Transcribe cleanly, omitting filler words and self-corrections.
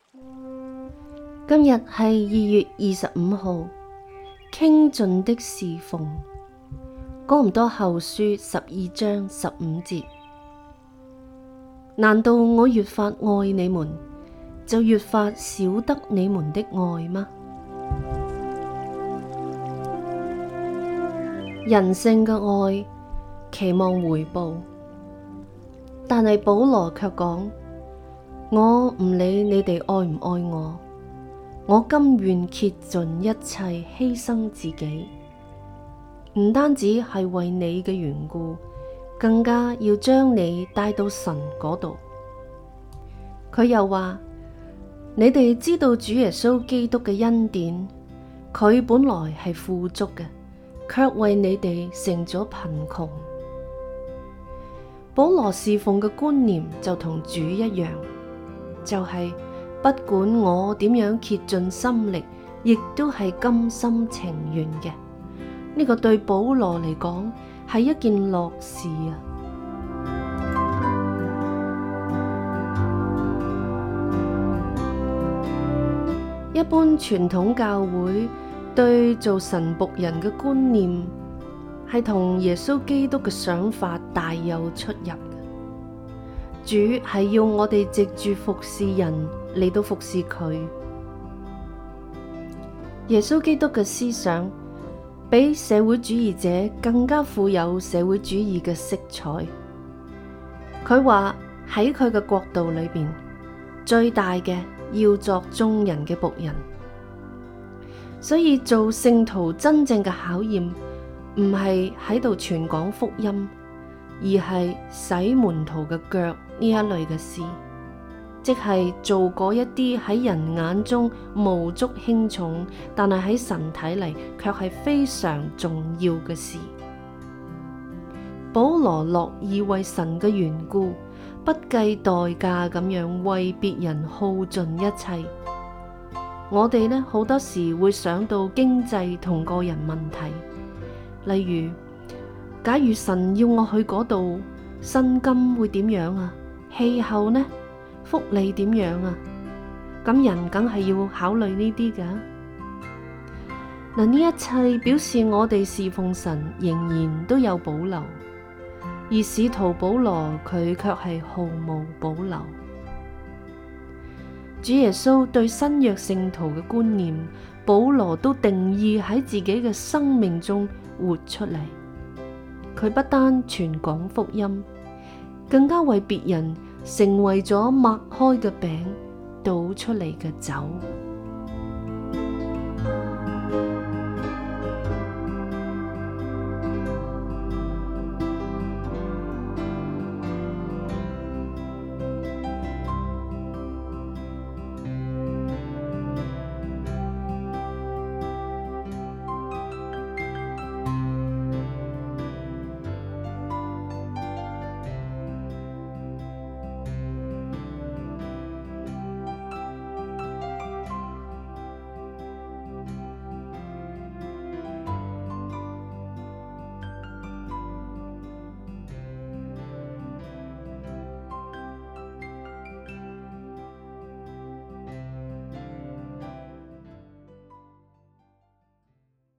今日係2月25號，傾盡的侍奉。哥林多後書12章15節。難道我越發愛你們，就越發少得你們的愛嗎？人性嘅愛期望回報，但係保羅卻講：我唔理你哋愛唔愛我甘願竭盡一切犧牲自己，唔單止係為你嘅緣故，更加要將你帶到神嗰度。佢又話：你哋知道主耶穌基督嘅恩典，佢本來係富足嘅，卻為你哋成咗貧窮。保羅侍奉嘅觀念就同主一樣，就係不管我點樣竭盡心力，亦都係甘心情願嘅。呢個對保羅嚟講係一件樂事啊！一般傳統教會對做神僕人嘅觀念係同耶穌基督嘅想法大有出入。主係要我哋藉住服侍人嚟到服侍佢。耶穌基督嘅思想比社會主義者更加富有社會主義嘅色彩。佢話喺佢嘅國度裏邊，最大嘅要作眾人嘅僕人。所以做聖徒真正嘅考驗唔係喺度傳講福音，而係洗門徒嘅腳呢一類嘅事，即係做嗰一啲喺人眼中無足輕重，但係喺神睇嚟卻係非常重要嘅事。保羅樂意為神嘅緣故，不計代價咁樣為別人耗盡一切。我哋呢，好多時會想到經濟同個人問題，例如假如神要我去嗰度，薪金會點樣啊？氣候呢？福利點樣啊？咁人梗係要考慮呢啲㗎。嗱，呢一切表示我哋侍奉神仍然都有保留，而使徒保羅佢卻係毫無保留。主耶穌對新約聖徒嘅觀念，保羅都定義喺自己嘅生命中活出嚟。佢不單傳講福音，更加為別人成為咗擘開嘅餅，倒出嚟嘅酒。